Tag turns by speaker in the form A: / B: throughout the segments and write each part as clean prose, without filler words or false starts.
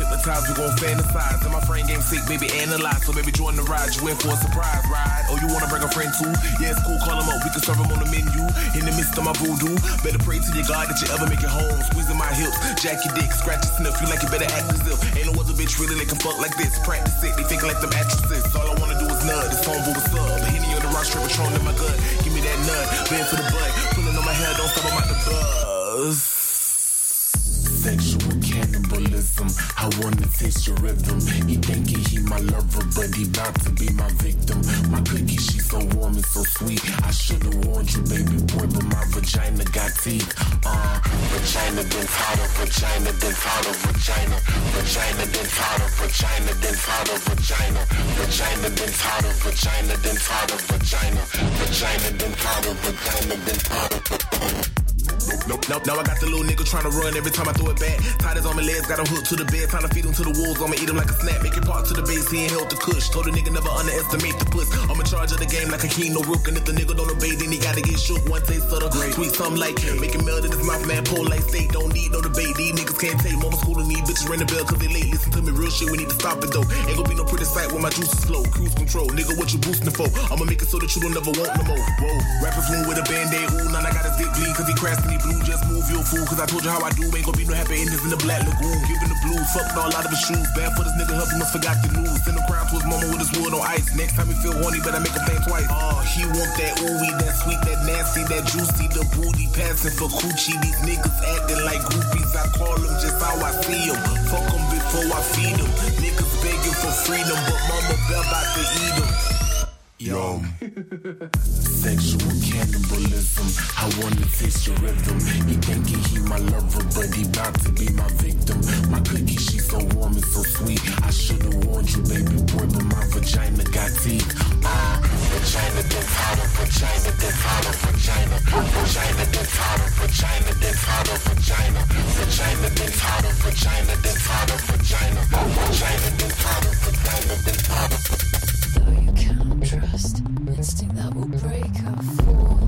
A: hypnotize, we gon' fantasize. And my friend game sick, baby, analyze. So baby, join the ride, you in for a surprise ride. Oh, you wanna bring a friend too? Yeah, it's cool, call him up, we can serve him on the menu. In the midst of my voodoo, better pray to your God that you ever make it home. Squeezing my hips, jack your dick, scratch your sniff. Feel like you better act as if ain't no other bitch really that can fuck like this. Practice it, they thinking like them actresses. All I wanna do is nut, this phone boo, what's up? The Henny on the rock strip, Patron in my gut. Give me that nut, bend for the butt. Pulling on my hair, don't stop, I'm out the buzz. Sexual cannibalism, I wanna taste your rhythm. He thinking he my lover, but he bout to be my victim. My cookie, she so warm and so sweet. I should've warned you, baby boy, but my vagina got teeth. Vagina then powder, vagina then powder, vagina. Vagina then powder, vagina then powder, vagina. Vagina then powder, vagina then powder, vagina. Vagina then powder, vagina then powder. Nope. Now I got the little nigga tryna run every time I throw it back. Tied his on my legs, got him hooked to the bed. Time to feed him to the wolves, I'ma eat him like a snack. Make it part to the base, he ain't held the kush. Told the nigga never underestimate the puss. I'm in charge of the game like a king, no rook. And if the nigga don't obey, then he gotta get shook. One taste of the sweet, something like make it melt in his mouth, man. Pull like steak, don't need no debate. These niggas can't take mama school and these bitches ring the bell cause they late. Listen to me, real shit, we need to stop it though. Ain't gonna be no pretty sight when my juices flow. Cruise control, nigga, what you boosting for? I'ma make it so that you don't never want no more. Whoa, rappers wound with a band-aid, ooh, now I got his dick bleed cause he crashed and he blew. Just move your fool, cause I told you how I do. Ain't gonna be no happy endings in the Black Lagoon. Giving the blues, fucked all out of his shoes. Bad for this nigga, help him, must forgot the news. Send him crown to his mama with his wood on ice. Next time he feel horny, better make him think twice. He want that ooey, that sweet, that nasty, that juicy, the booty passing for coochie. These niggas acting like groupies. I call them just how I see them. Fuck them before I feed them. Niggas begging for freedom, but mama bell about to eat them. Yo, sexual cannibalism, I wanna taste your rhythm. He thinking he my lover, but he bout to be my victim. My cookie, she so warm and so sweet. I should've warned you, baby boy, but my vagina got teeth. Vagina then powder, vagina then powder, vagina. Vagina then powder, vagina then powder, vagina. Vagina then powder, vagina then powder, vagina. Vagina then powder, vagina then powder.
B: Though you cannot trust instinct that will break our fall.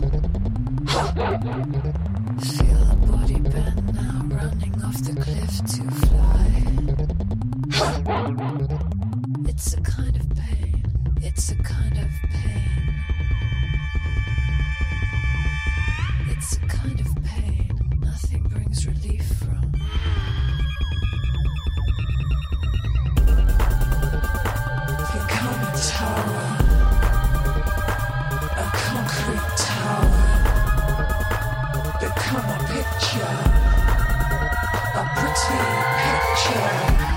B: Feel the body bend now, running off the cliff to fly. It's a kind of pain. It's a kind of pain. It's a kind of pain nothing brings relief from. Become a tower, a concrete tower. Become a picture, a pretty picture.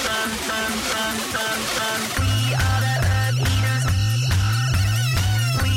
C: We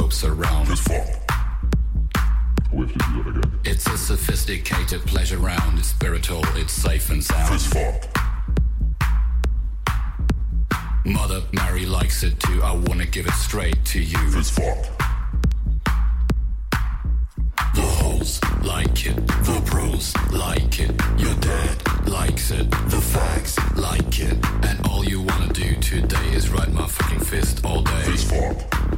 C: ropes around.
D: Fist fuck. We have to do that again.
C: It's a sophisticated pleasure round. It's spiritual, it's safe and sound.
D: Fist fuck.
C: Mother Mary likes it too. I wanna give it straight to you.
D: Fist fuck.
C: The hoes like it, the bros like it, your dad likes it, the fags like it, and all you wanna do today is ride my fucking fist all day.
D: Fist fuck.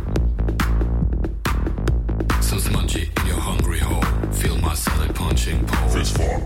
C: Some smudgy in your hungry hole, feel my solid punching pole.
D: Fist fuck.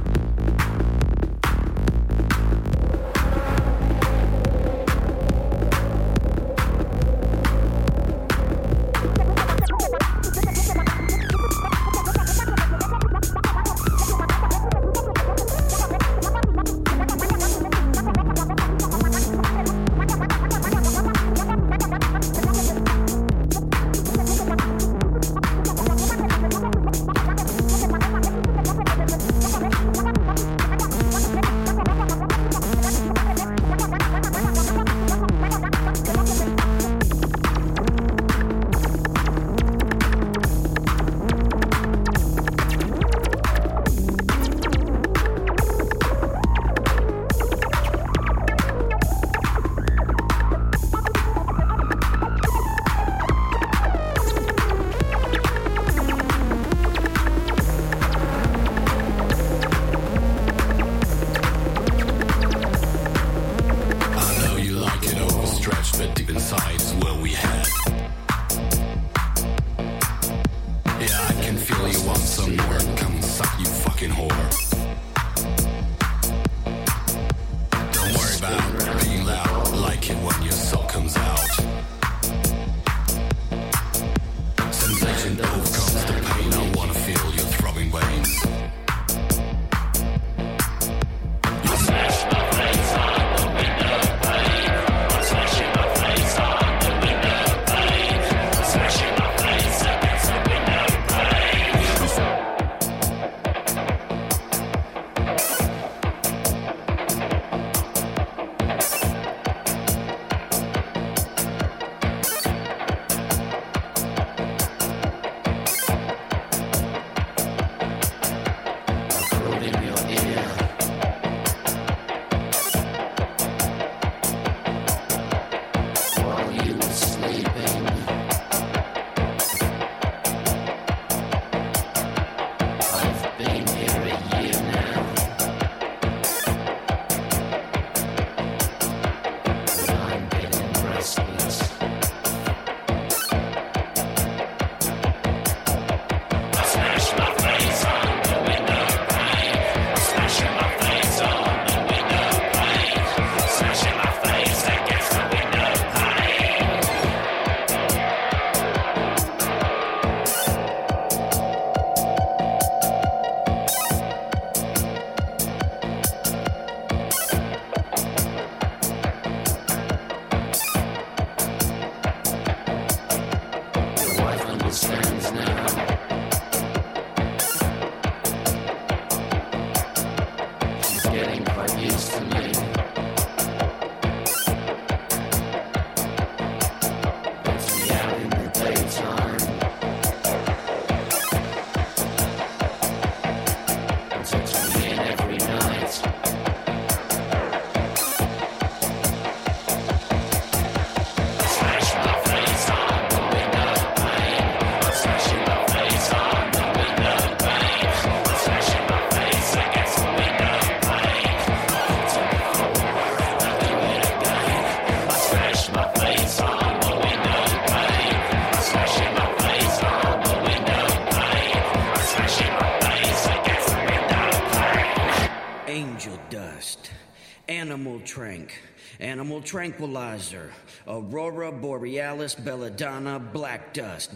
E: Animal Tranquilizer, Aurora Borealis, Belladonna, Black Dust.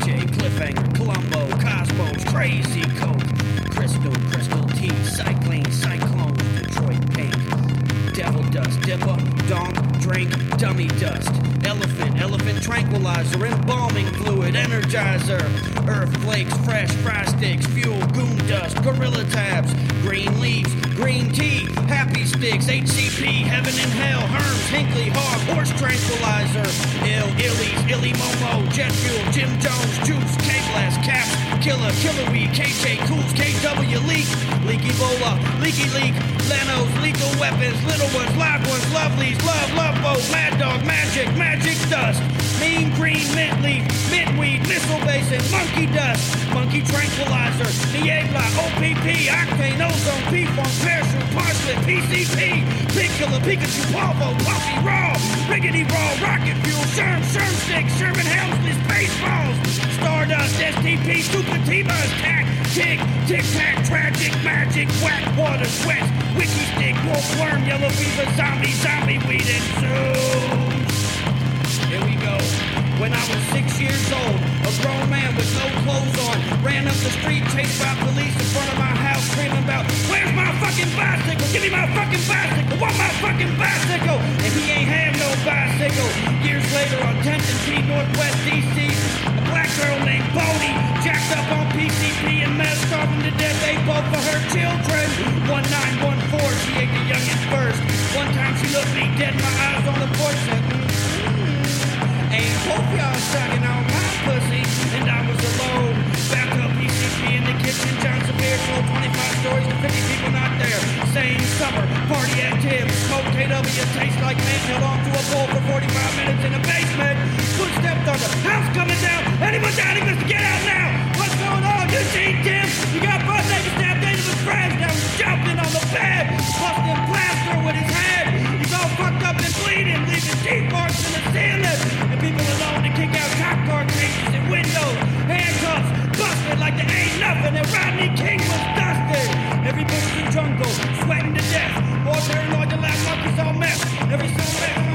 E: AJ, Cliffhanger, Columbo, Cosmos, Crazy Coke, Crystal T, Cycling, Cyclones, Detroit Pink, Devil Dust, Dipper, Donk, Drink, Dummy Dust, Elephant Tranquilizer, Embalming Fluid, Energizer, Earth Flakes, Fresh Fry Sticks, Fuel, Goon Dust, Gorilla Tabs, Green Leaves, Green Tea, Happy Sticks, HCP, Heaven and Hell, Herms, Hinkley, Hog, Horse Tranquilizer, Illies, Illy Momo, Jet Fuel, Jim Jones, Juice, K-Blast, Caps, Killer Weed, KJ Cools, KW Leak, Leaky Bola, Leaky Leak, Lenos, Lethal Weapons, Little Ones, Live Ones, Lovelies, Love Boat, Mad Dog, Magic Dust, Mean Green, Mint Leaf, Mint Weed, Missile Basin, Monkey Dust, Monkey Tranquilizer, Niebla, OPP, Octane, Ozone, P-Funk, Parachute, Parsley, PCP, Pig Killer, Pikachu, Polvo, Puffy, Raw, Riggedy Raw, Rocket Fuel, Sherm Stick, Sherman Helmsley, Spaceballs, Stardust, STP, Stupid T-Buzz, Tack, Tick Tack, Tragic, Magic, Whack, Water, Sweats, Wiki Stick, Wolf Worm, Yellow Fever, Zombie Weed, and Zoom. Here we go. When I was 6 years old, a grown man with no clothes on ran up the street, chased by police in front of my house, screaming about, "Where's my fucking bicycle? Give me my fucking bicycle! Want my fucking bicycle!" And he ain't have no bicycle. Years later on 10th and T, Northwest DC, a black girl named Bodie jacked up on PCP and meth, starving to death, ate both of her children. 1914, she ate the youngest first. One time she looked me dead in my eyes on the porch, said, "Ain't hope y'all sucking on my pussy," and I was alone. Back up PCP in the kitchen, John Severe told 25 stories to 50 people not there. Same summer, party at Tim's, smoke KW, taste like mint, held on to a pole for 45 minutes in a basement. Footsteps on the house coming down. Anyone down here, Mr. Get out now! What's going on? You seen Tim? You got butt naked, stabbed into his friends. Now he's jumping on the bed, busting plaster with his head. He's all fucked up and bleeding, leaving deep marks in the ceiling. And people alone to kick out cop car cases and windows, handcuffs, busted like there ain't nothing. And Rodney King was dusted. Every bush in the jungle, sweating to death. More paranoid than last monkeys on meth. Every so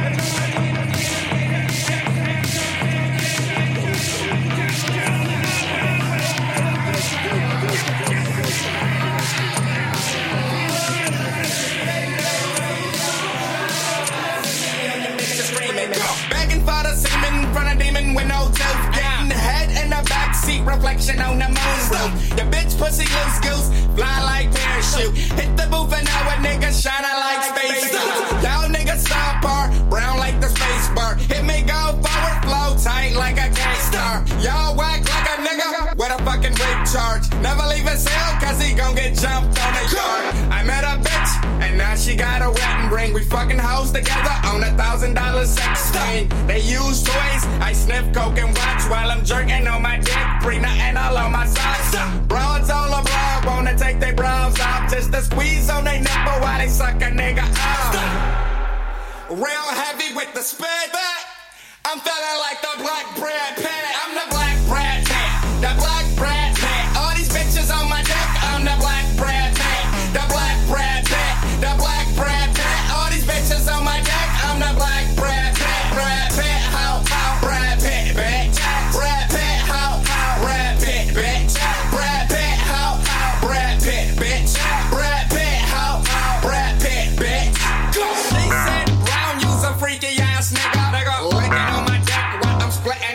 F: begging for the semen in front of demon with no tooth. Getting the head in the backseat, reflection on the moon roof. Your bitch pussy loose goose, fly like parachute. Hit the booth and now a nigga shining like space suit. Y'all niggas stop bar, brown like the space bar. Hit me go forward, flow tight like a gangster. Y'all whack like a nigga with a fucking rape charge. Never leave his cell cause he gon' get jumped on the yard. I met a bitch and now she got a wedding ring. We fucking hoes together on $1,000 sex thing. They use toys, I sniff coke and watch while I'm jerking on my dick. Free nothing all on my socks. Broads all abroad wanna take their bras off just to squeeze on their nipple while they suck a nigga off. Real heavy with the spit. I'm feeling like the black Brad Pitt. I'm the black Brad Pitt. The black Brad Pitt. All these bitches on my dick. I'm the black Brad Pitt. The black Brad Pitt. The black Brad Pitt. All these bitches on my dick. I'm the black Brad Pitt. Brad Pitt. How Brad Pitt, bitch. Brad Pitt. How Brad Pitt, bitch. Brad Pitt. How Brad Pitt, bitch. Brad Pitt. How Brad Pitt, bitch. They said Brown, you's a freaky ass nigga. Licking on my dick while I'm splitting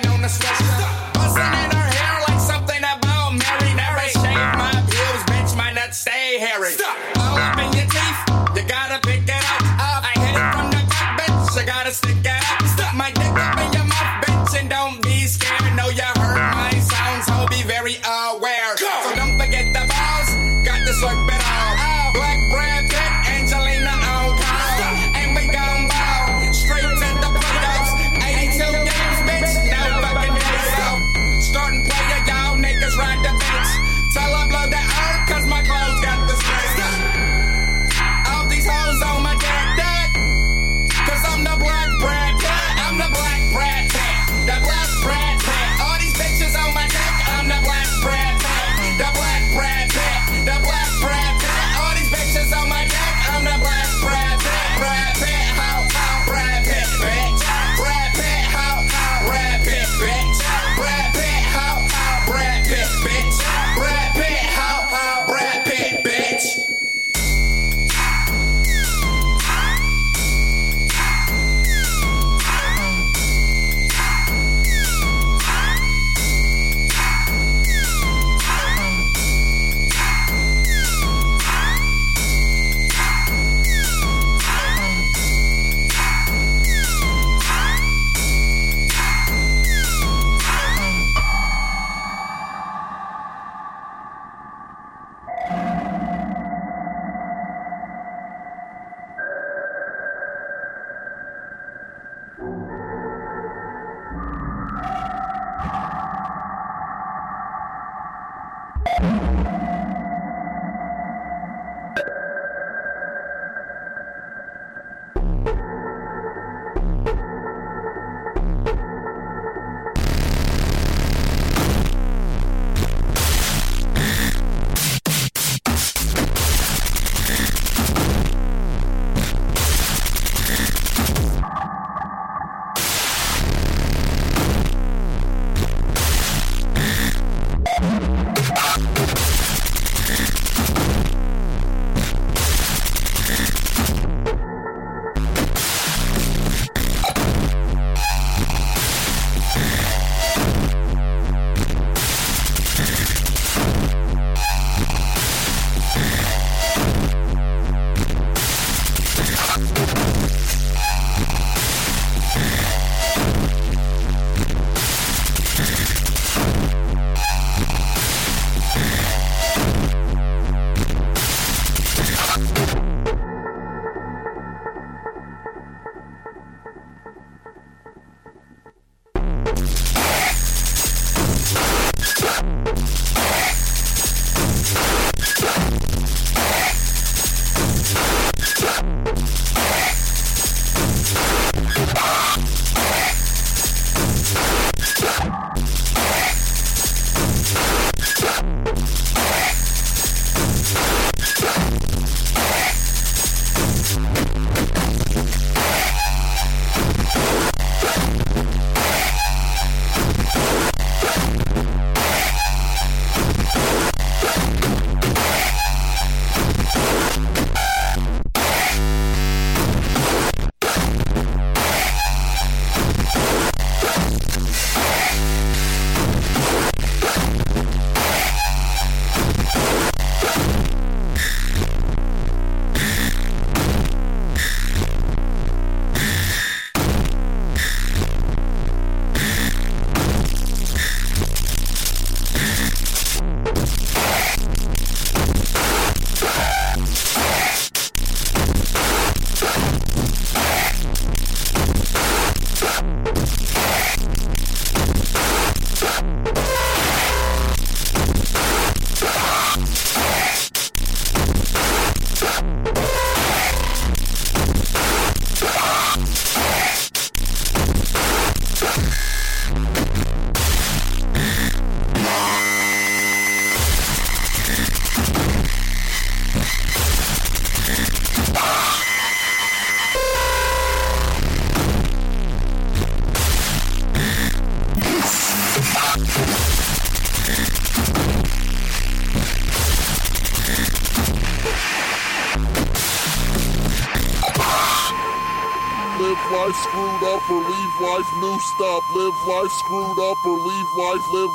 G: life screwed up or leave life new stop. Live life screwed up or leave life. Live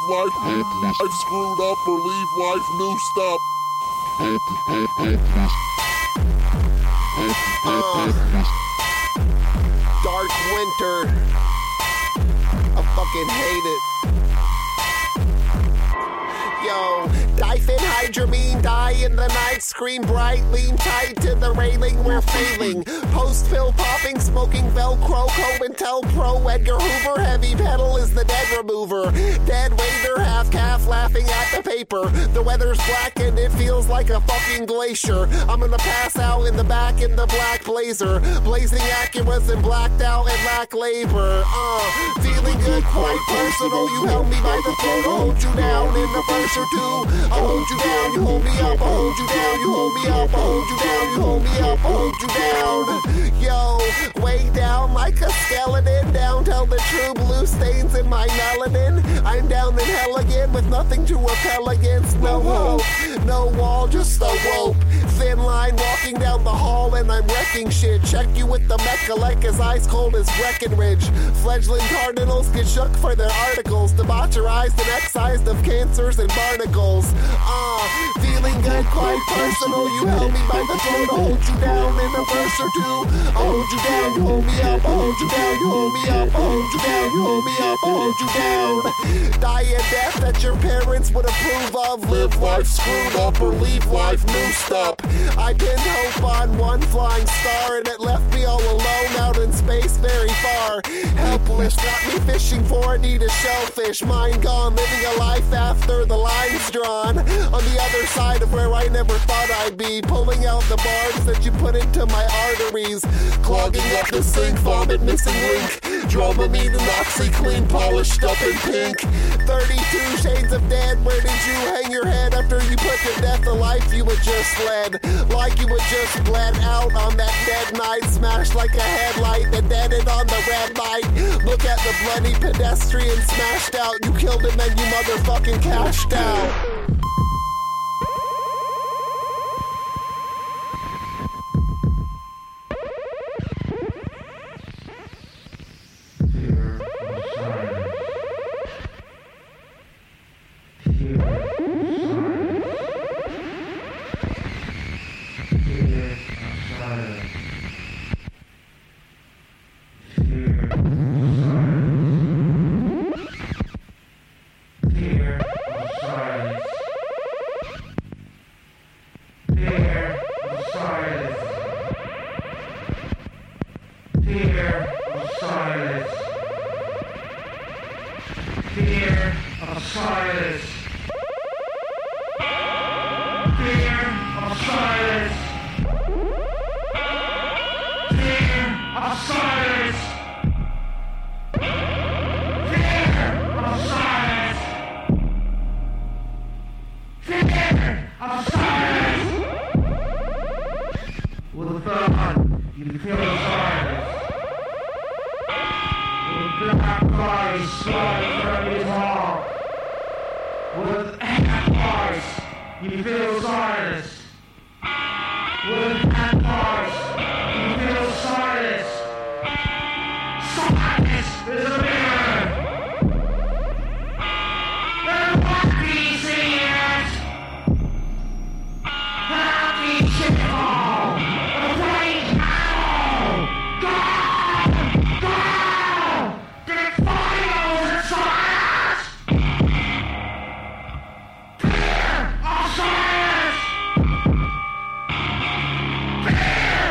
G: life screwed up or leave life new stop.
H: Dark winter. I fucking hate it. Yo, diphenhydramine, die in the night, scream bright, lean tight to the railing, we're failing. Post pill popping, smoking Velcro, COINTELPRO, Edgar Hoover, heavy pedal is the dead remover. Dead waiter, half calf, laughing at the paper. The weather's black and it feels like a fucking glacier. I'm gonna pass out in the back in the black blazer. Blazing Acuras and blacked out and lack labor. Feeling good, quite personal. You held me by the throat, I'll hold you down in the verse or two. I'll hold you down, you hold me up, I'll hold you down, you hold me up, I'll hold you down, you hold me up, I'll hold you down. Yo, way down like a skeleton, down till the true blue stains in my melanin. I'm down in hell again with nothing to repel against. No hope, no wall, just a rope. Thin line walking down the hall and I'm wrecking shit. Check you with the Mechalek as ice cold as Breckenridge. Fledgling cardinals get shook for their articles. Debaucherized and excised of cancers and barnacles. Feeling good, quite personal. You held me by the throat, I'll hold you down in a verse or two. I'll hold you down, you hold me up, I'll hold you down, you hold me up, I'll hold you down, you hold me up, I'll hold you down. Die a death that your parents would approve of. Live life screwed up or leave life noosed up. I pinned hope on one flying star, and it left me all alone out in space very far. Helpless, got me fishing for a need a shellfish. Mine gone, living a life after the line's drawn. On the other side of where I never thought I'd be, pulling out the barbs that you put into my arteries, clogging up the sink, vomit, missing link. Dramamine and OxyClean, polished up in pink. 32 shades of dead. Where did you hang your head after you put to death the life you had just led? Like you had just bled out on that dead night, smashed like a headlight that deaded on the red light. Look at the bloody pedestrian smashed out. You killed him and you motherfucking cashed out.
I: Fear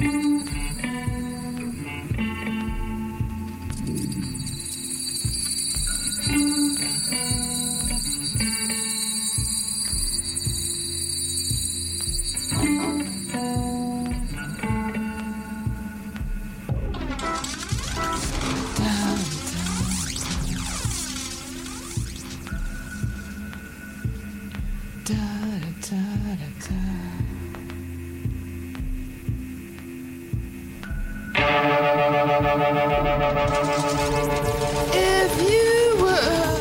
B: If you were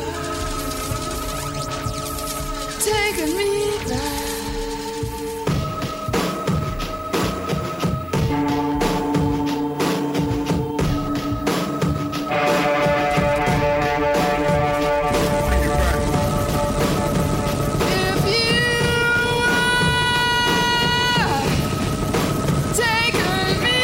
B: taking me back, if you were taking me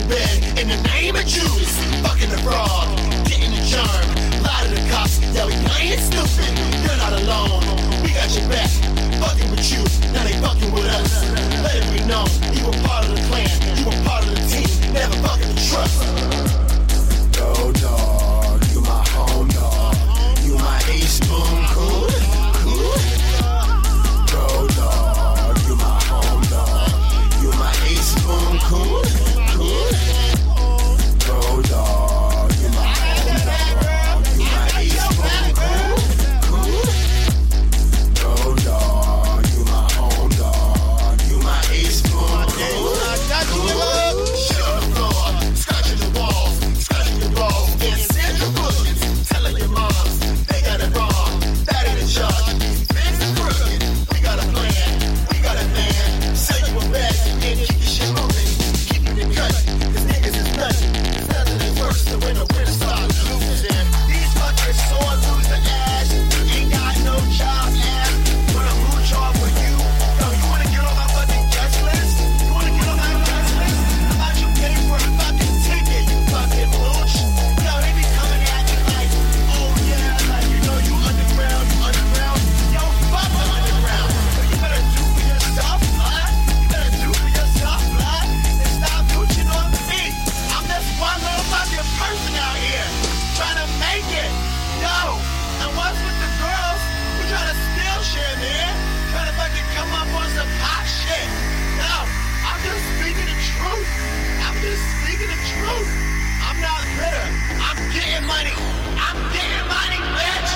I: bed in the name of Judas. Fucking the frog, getting the charm. Lie to the cops, yeah, we playing stupid. You're not alone, we got your back. Fucking with you, now they fucking with us. Let it be known, you were part of the clan, you were part of the team, never fucking the trust. Go dog, you my home dog, you my ace boom cool, cool. Go dog, you my home dog, you my ace boom cool, cool. Go dog, you my home dog, you my ace boom cool, cool. Go dog, you my home dog, you my ace boom cool, cool. Shit on the floor, scratching the walls, scratching your balls, and send your bookings, telling your moms they got it wrong, that ain't a charge. Fix the crooked, we got a plan, we got a man. Sell you a bag and keep your shit moving, keep it cut, cause niggas is nothing. There's nothing that's worse than when the winner starts losing. These fuckers sore losing ass, ain't got no job ass. Wanna mooch off with you? Yo, you wanna get on my fucking guest list? You wanna get on my guest list? How about you pay for a fucking ticket, you fucking mooch? Yo, they be coming at you like, oh yeah, like you know you underground, you underground. Yo, fuck the underground. So you better do for yourself, huh? You better do for yourself, huh? And stop mooching on me. I'm just one little fucking person out here trying to make it. Yo, and what's with the girls who try to steal shit, man? Trying to fucking come up on some hot shit. No, I'm just speaking the truth. I'm just speaking the truth. I'm not bitter. I'm getting money. I'm getting money, bitch.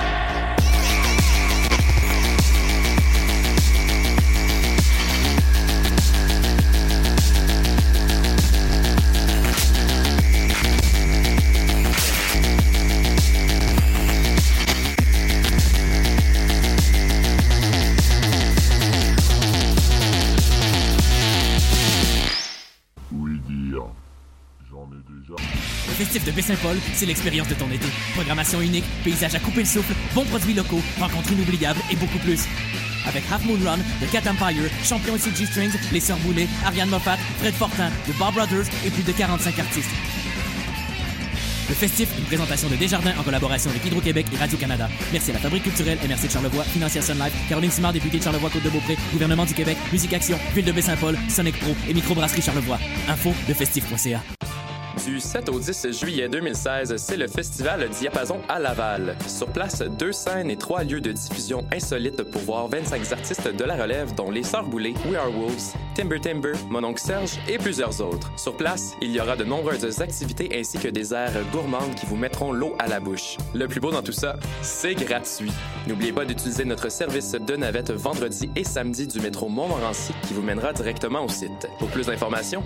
G: Oui, dire. J'en ai déjà.
J: Le festif de Baie-Saint-Paul, c'est l'expérience de ton été. Programmation unique, paysages à couper le souffle, bons produits locaux, rencontres inoubliables et beaucoup plus. Avec Half Moon Run, The Cat Empire, Champion et CG Strings, Les Sœurs Boulay, Ariane Moffat, Fred Fortin, The Bar Brothers et plus de 45 artistes. Le festif, une présentation de Desjardins en collaboration avec Hydro-Québec et Radio-Canada. Merci à la Fabrique culturelle MRC de Charlevoix, Financière Sun Life, Caroline Simard, députée de Charlevoix-Côte-de-Beaupré, Gouvernement du Québec, Musique Action, Ville de Baie-Saint-Paul, Sonic Pro et Microbrasserie Charlevoix. Info de festif.ca.
K: Du 7 au 10 juillet 2016, c'est le festival Diapason à Laval. Sur place, 2 scènes et 3 lieux de diffusion insolites pour voir 25 artistes de la relève, dont Les Sœurs Boulay, We Are Wolves, Timber Timber, Mon Oncle Serge et plusieurs autres. Sur place, il y aura de nombreuses activités ainsi que des aires gourmandes qui vous mettront l'eau à la bouche. Le plus beau dans tout ça, c'est gratuit. N'oubliez pas d'utiliser notre service de navette vendredi et samedi du métro Montmorency qui vous mènera directement au site. Pour plus d'informations,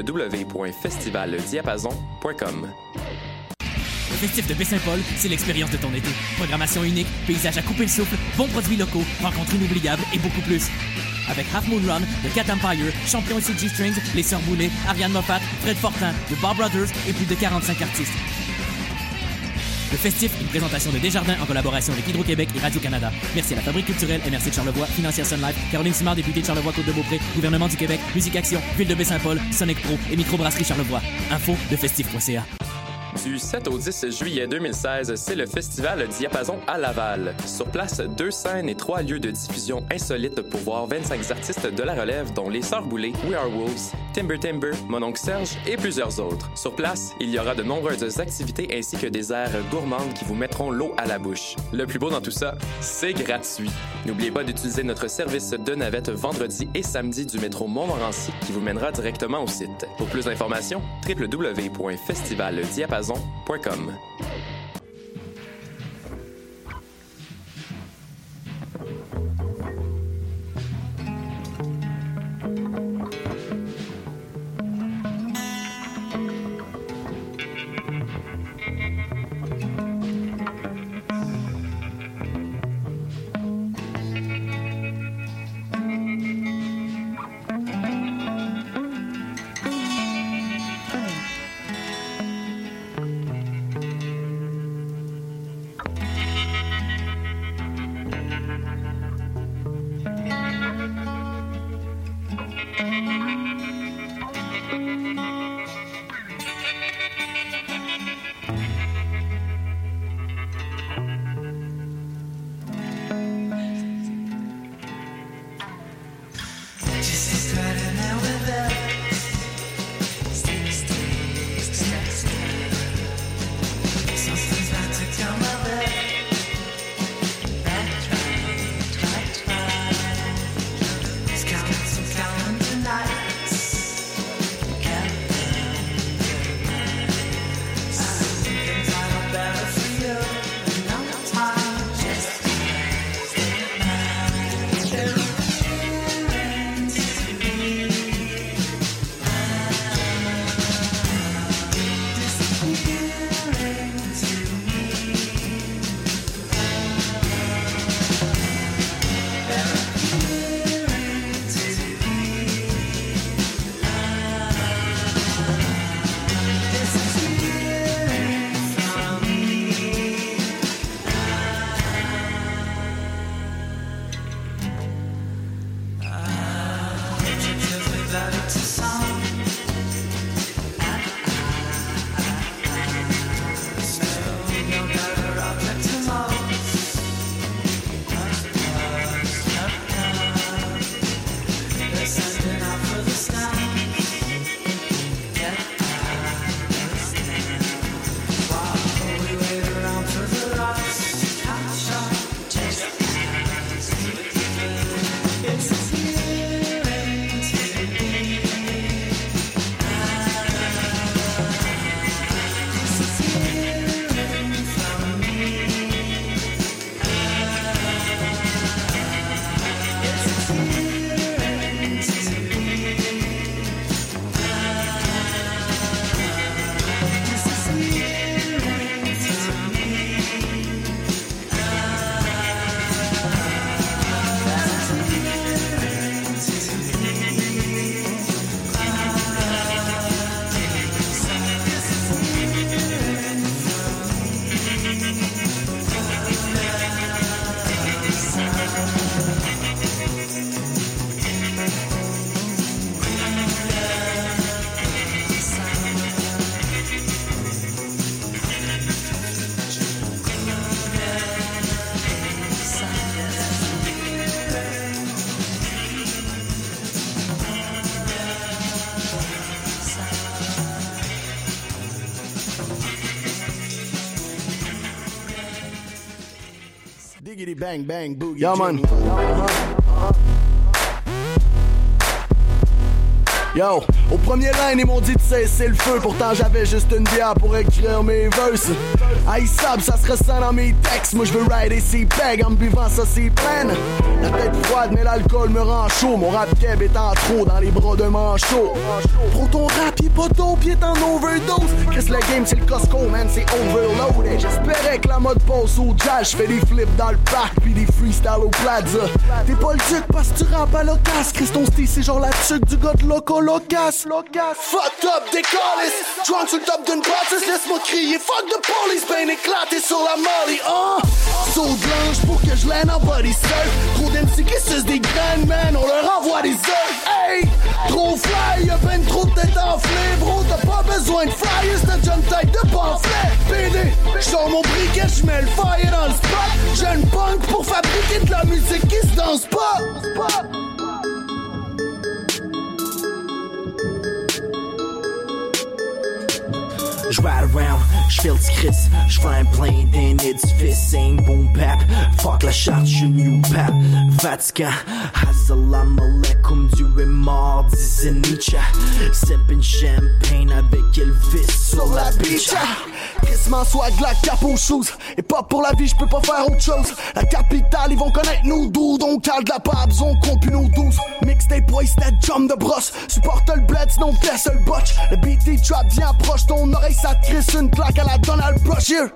K: www.festivaldiapason.com.
J: Le festif de Baie-Saint-Paul, c'est l'expérience de ton été. Programmation unique, paysages à couper le souffle, bons produits locaux, rencontres inoubliables et beaucoup plus. Avec Half Moon Run, The Cat Empire, Champion et CG Strings, Les Sœurs Boulay, Ariane Moffat, Fred Fortin, The Bar Brothers et plus de 45 artistes. Le festif, une présentation de Desjardins en collaboration avec Hydro-Québec et Radio-Canada. Merci à la Fabrique culturelle MRC de Charlevoix, Financière Sun Life, Caroline Simard, députée de Charlevoix-Côte-de-Beaupré, Gouvernement du Québec, Musique Action, Ville de Baie-Saint-Paul, Sonic Pro et Microbrasserie Charlevoix. Info de festif.ca.
K: Du 7 au 10 juillet 2016, c'est le festival Diapason à Laval. Sur place, 2 scènes et 3 lieux de diffusion insolites pour voir 25 artistes de la relève, dont Les Sœurs Boulay, We Are Wolves, Timber Timber, Mon Oncle Serge et plusieurs autres. Sur place, il y aura de nombreuses activités ainsi que des aires gourmandes qui vous mettront l'eau à la bouche. Le plus beau dans tout ça, c'est gratuit. N'oubliez pas d'utiliser notre service de navette vendredi et samedi du métro Montmorency qui vous mènera directement au site. Pour plus d'informations, www.festivaldiapason.com.
L: Biggity bang bang boogie. Yeah, man. Yo, au premier line, ils m'ont dit de cesser le feu. Pourtant, j'avais juste une bière pour écrire mes verses. Aïssab, ça se ressent dans mes textes. Moi, je veux rider ces pegs en me buvant ça, c'est pleine. La tête froide, mais l'alcool me rend chaud. Mon rap keb est en trop dans les bras de manchot. Pro ton rap, il est pas dope, il est en overdose. Chris, le game, c'est le Costco, man, c'est overloaded. J'espérais que la mode passe au jazz. J'fais des flips dans le parc, puis des freestyles au plaza. T'es pas le duc parce que tu rappes à l'occasion. Chris, ton style, c'est genre la tuque du gars de loco. Locasse, fucked up, décalisse. Drunk sur le top d'une bâtisse, laisse-moi crier. Fuck the police, ben éclaté sur la molly. Saut blanche pour que je l'aide en body surf. Trop d'MC qui sucent des graines, man, on leur envoie des œufs. Hey, trop fly, y'a ben trop de tête enflée. Bro, t'as pas besoin de flyers, t'as déjà une tête de pamphlet. PD, j'sors mon briquet, j'mets le fire dans le spot. J'ai une punk pour fabriquer de la musique qui se danse pas.
M: J'ride around, j'fais le Chris, j'fly plein d'un édifice, un boom bap, fuck la charte, j'suis new pap, Vatican, assalamu alaikum, Dieu est mort, disait Nietzsche, sippin' champagne avec Elvis sur la beach. Crissement swag, la cape aux shoes, et pas pour la vie, j'peux pas faire autre chose. La capitale, ils vont connaître nous doudes, on cale de la pabs, on compte plus nos 12. Mixtape boys, that jump de brosse, supporte le bled, sinon fesse le botch. Le BT trap vient proche, ton oreille ça te crisse une claque à la Donald Brush, yeah.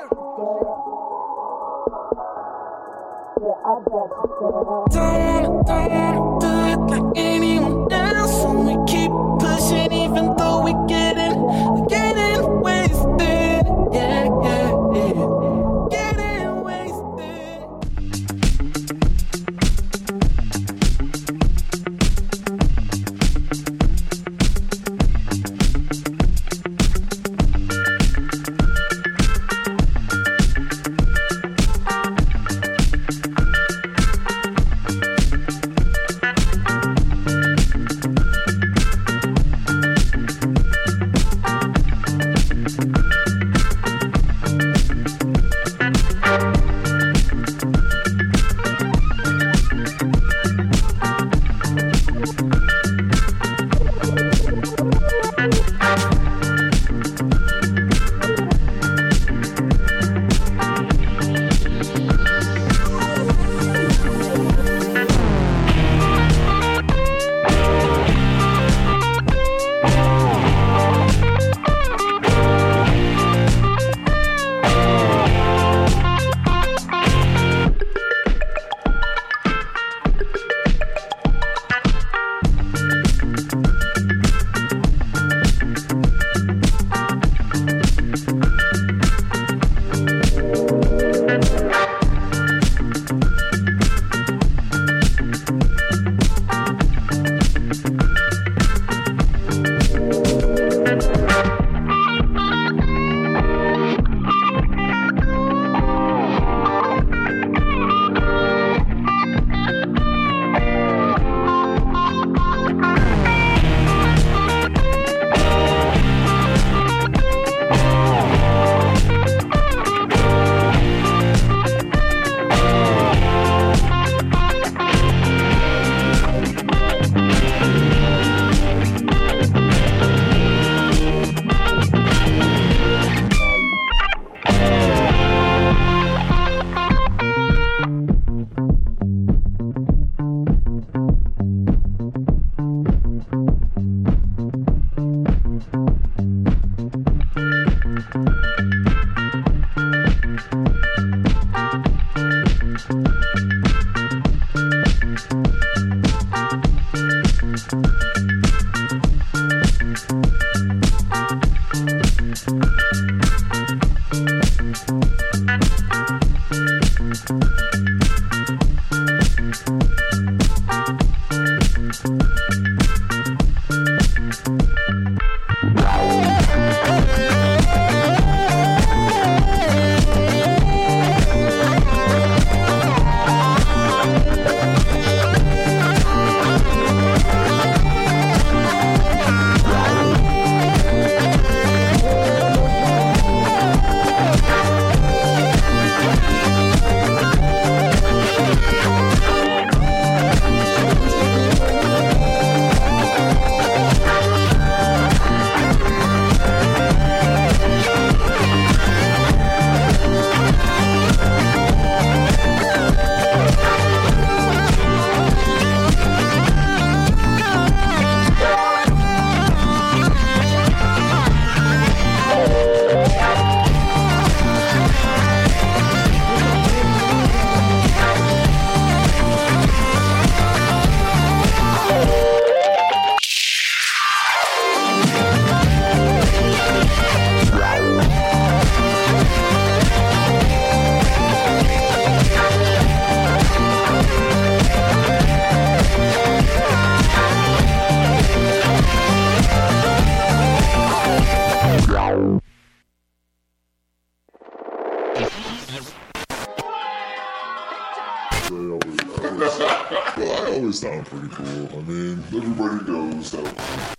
N: Don't do it like anyone else, and we keep pushing even though we're getting wasted, yeah, yeah, yeah. Getting wasted.
G: really sound pretty cool. I mean, everybody knows that.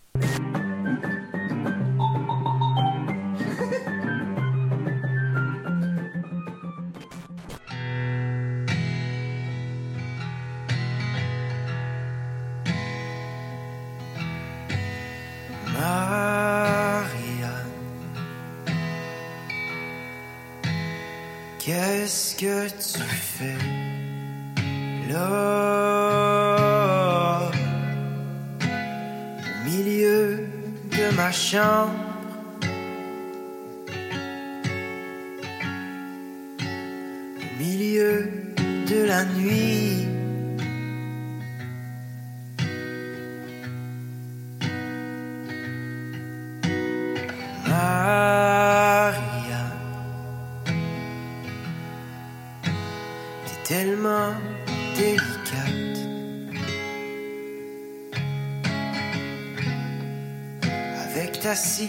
O: Marianne, qu'est-ce que tu fais là, au milieu de ma chambre, au milieu de la nuit? Marianne, t'es tellement délicate, avec ta cigarette.